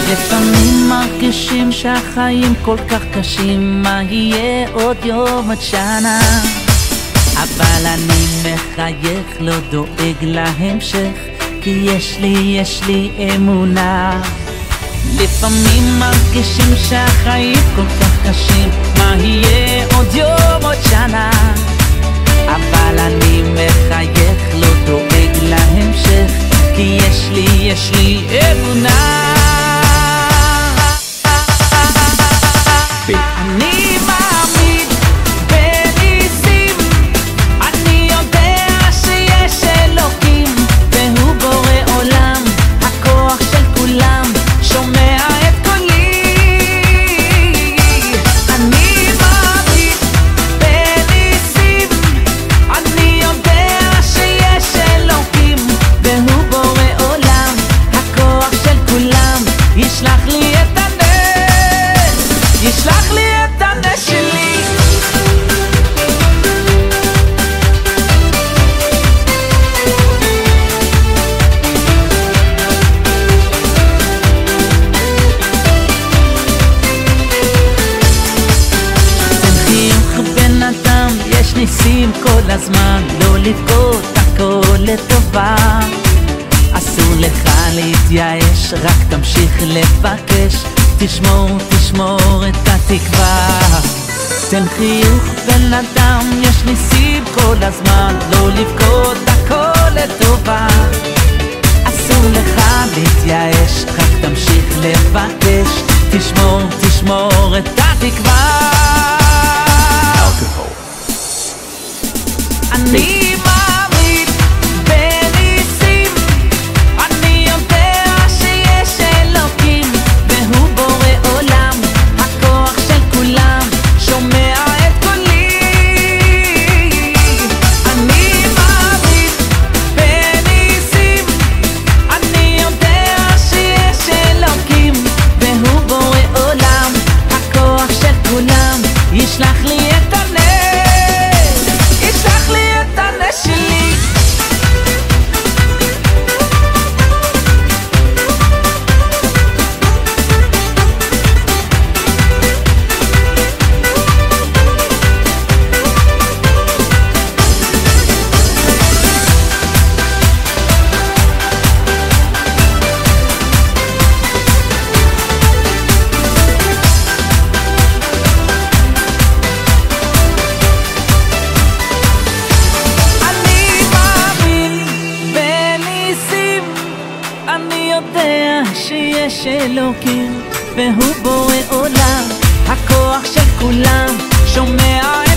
לפעמים מרגישים שהחיים כל כך קשים, מה יהיה עוד יום עד שנה? אבל אני מחייך, לא דואג להמשך, כי יש לי אמונה. לפעמים מרגישים שהחיים כל כך קשים, מה יהיה עוד יום עוד שנה? אבל אני מחייך, לא דואג להמשך, כי יש לי אמונה. אני מאמין בניסים, אני יודע שיש אלוקים, והוא בורא עולם, הכוח של כולם, שומע את קולי. אני מאמין בניסים, אני יודע שיש אלוקים, והוא בורא עולם, הכוח של כולם, ישלח לי את הנס, ישלח לי את הנס שלי. יש ניסים כל הזמן, לא לבכות, הכל לטובה. אסור לך להתייאש, רק תמשיך לבקש, תשמור את התקווה. תן חיוך בן אדם, יש ניסים כל הזמן, לא לבכות, הכל לטובה. אסור לך להתייאש, רק תמשיך לבקש, תשמור את התקווה. אני מאמין בניסים, אני יודע שיש אלוקים, והוא בורא עולם, הכוח של כולם, שומע את קולי. אני מאמין בניסים, אני יודע שיש אלוקים, והוא בורא עולם, הכוח של כולם, ישלח לי את הנס, ישלח לי את הנס שלי. אני יודע שיש אלוקים, והוא בורא עולם, הכוח של כולם, שומע את